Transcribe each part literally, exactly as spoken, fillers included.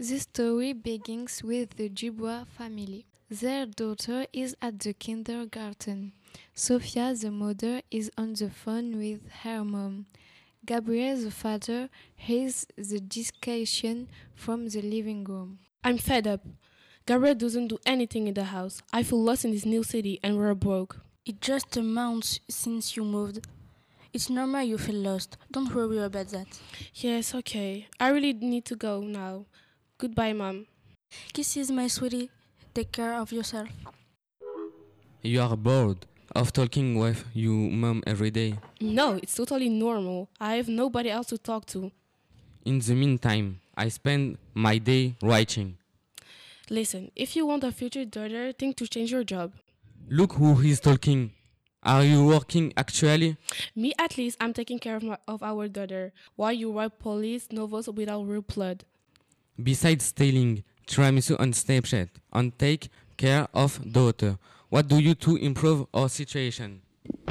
The story begins with the Dubois family. Their daughter is at the kindergarten. Sophia, the mother, is on the phone with her mom. Gabriel, the father, hears the discussion from the living room. I'm fed up. Gabriel doesn't do anything in the house. I feel lost in this new city and we're broke. It's just a month since you moved. It's normal you feel lost. Don't worry about that. Yes, okay. I really need to go now. Goodbye, Mom. Kisses, my sweetie. Take care of yourself. You are bored of talking with your mom every day. No, it's totally normal. I have nobody else to talk to. In the meantime, I spend my day writing. Listen, if you want a future daughter, think to change your job. Look who is talking. Are you working actually? Me, at least, I'm taking care of, my, of our daughter, while you write police novels without real blood. Besides stealing tiramisu on Snapchat and take care of daughter, what do you to improve our situation?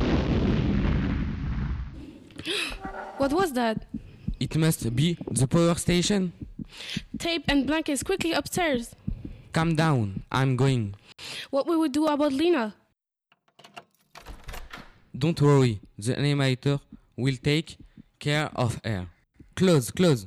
What was that? It must be the power station. Tape and blankets quickly upstairs. Calm down, I'm going. What will we do about Lena? Don't worry, the animator will take care of her. Close, close.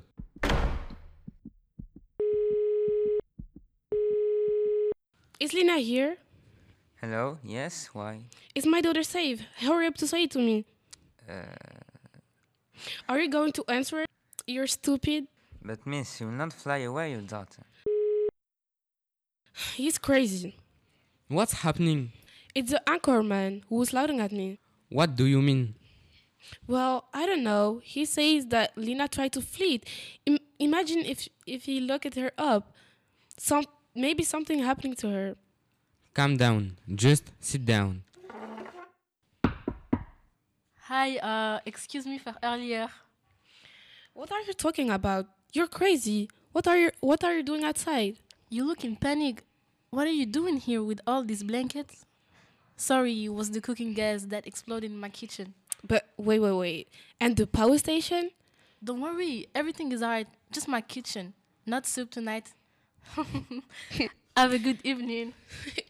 Is Lena here? Hello, yes, why? Is my daughter safe? Hurry up to say it to me. Uh, Are you going to answer it? You're stupid. but miss, you will not fly away your daughter. He's crazy. What's happening? It's the anchor man who was shouting at me. What do you mean? Well, I don't know. He says that Lena tried to flee. Im- imagine if if he looked her up. Some maybe something happening to her. Calm down, just sit down. Hi, uh, excuse me for earlier. What are you talking about? You're crazy. What are you What are you doing outside? You look in panic. What are you doing here with all these blankets? Sorry, it was the cooking gas that exploded in my kitchen. But wait, wait, wait. And the power station? Don't worry, everything is alright. Just my kitchen. Not soup tonight. Have a good evening.